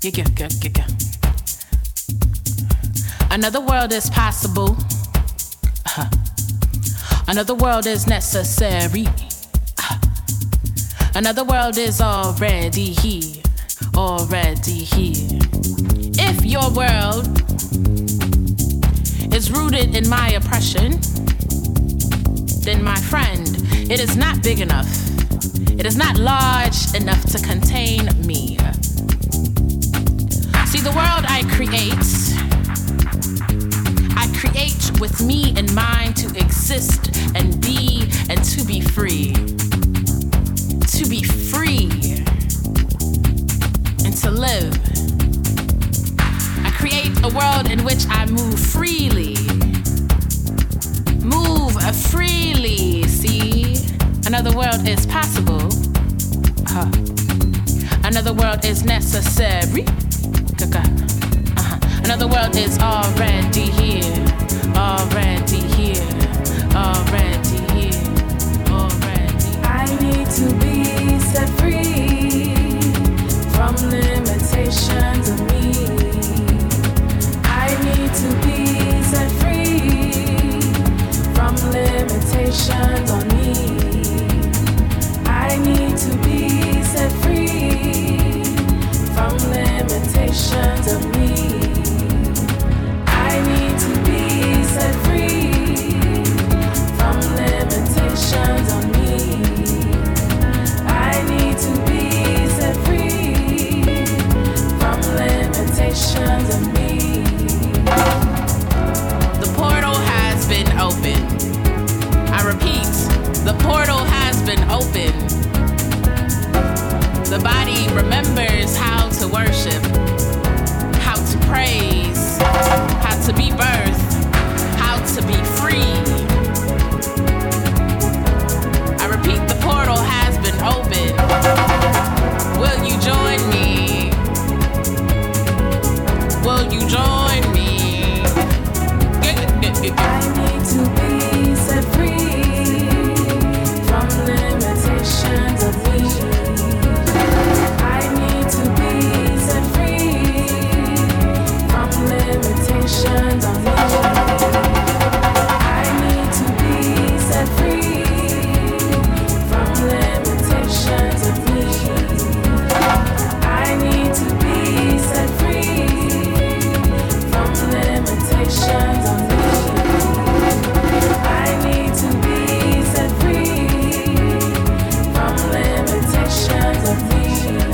Yeah. Another world is possible. Another world is necessary. Another world is already here. Already here. If your world is rooted in my oppression, then my friend, it is not big enough. It is not large enough to contain me. See, the world I create with me in mind to exist and be and to be free. To be free and to live. I create a world in which I move freely. Move freely, see? Another world is possible. Another world is necessary. Another world is already here. Already here. Already here. Already. I need to be set free from limitations of me. I need to be set free from limitations on me. I need to be set free from limitations of me. I need to be set free from limitations on me. I need to be set free from limitations on me. The portal has been opened. I repeat, the portal has been opened. The body remembers how to worship, how to praise, how to be birthed, how to be free. I repeat, the portal has been opened. Will you join me? Will you join me? I need to be set free from limitations of me. I need to be set free from limitations on me. I need to be set free from limitations of me. I need to be set free from limitations on me. I need to be set free from limitations of me.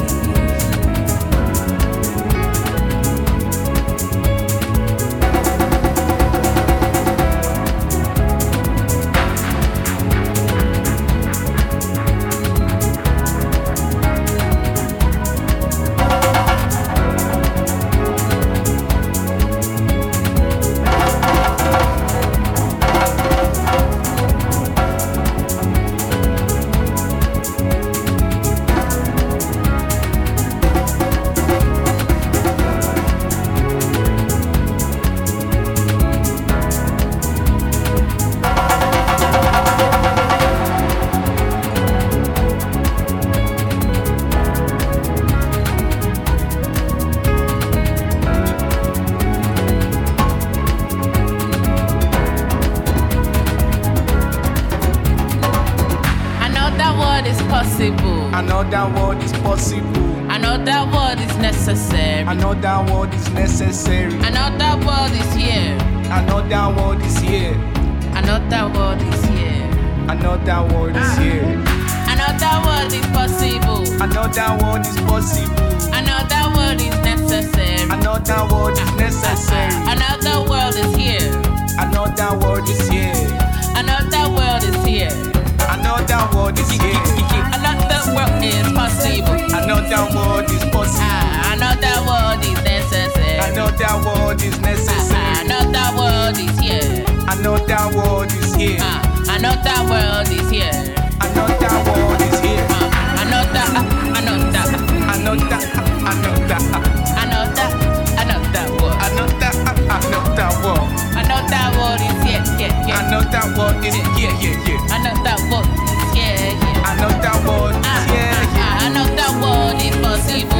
I know that word is possible. I know that word is necessary. I know that word is necessary. I know that word is here. I know that word is here. I know that word is here. I know that word is here. I know that word is possible. I know that word is possible. I know that word is necessary. I know that word is necessary. Another world is here. I know that word is here. Another world is here. I know that word is here. Another world is possible. I know that word is possible. I know that word is necessary. I know that word is necessary. I know that word is here. I know that word is here. I know that word is here. I know that word is here. I know that. I know that. I know that. I know that. I know that. I know that word. I know that. I know that word. I know that word is here. I know that word is here. I know that word is here. I know that word is here. I know that word is possible. I know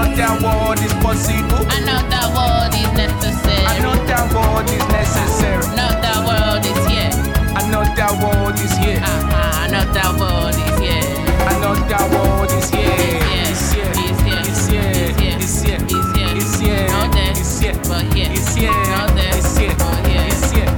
that world is possible. I know that world is necessary. I know that world is necessary. Know that world is here. I know that world is here. I know that world is here. I know that world is here. It's here. It's here. It's here. It's here. It's here. It's It's here. here. Not there. It's here. But here. It's here. Not there. It's here. But here. It's here.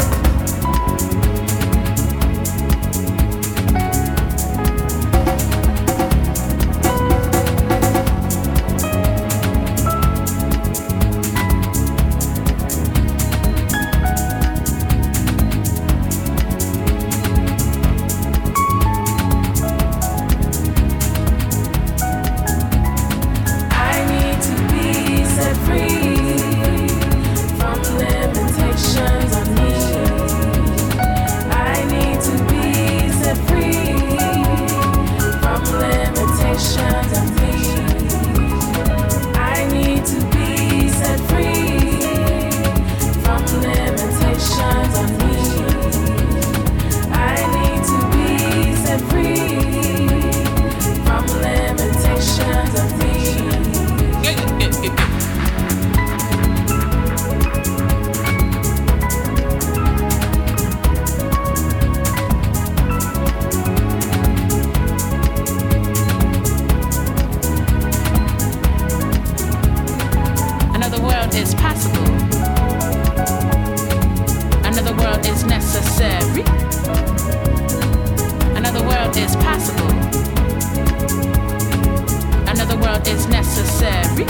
I need to be set free from limitations on me. I need to be set free from limitations on me. I need to be set free from limitations on me. I need to be set free from limitations on me. Another world is possible. Another world is necessary. Another world is possible. Another world is necessary.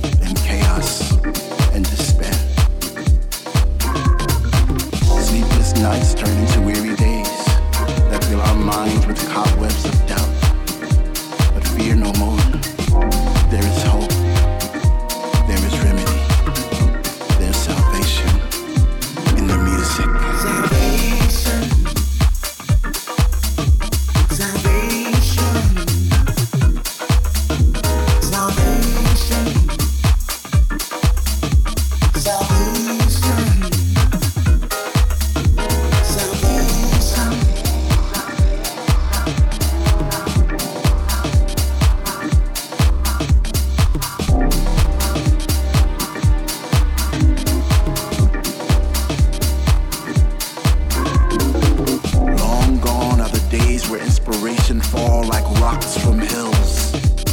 and chaos and despair. Sleepless nights turn into weary days that fill our minds with cobwebs of doubt. But fear no more. There is hope. There is remedy. There's salvation in the music. Salvation. Salvation. Salvation. Salvation. Fall like rocks from hills.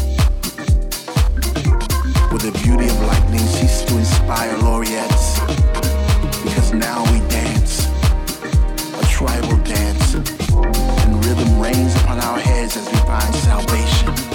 With the beauty of lightning cease to inspire laureates. Because now we dance, a tribal dance, and rhythm reigns upon our heads as we find salvation.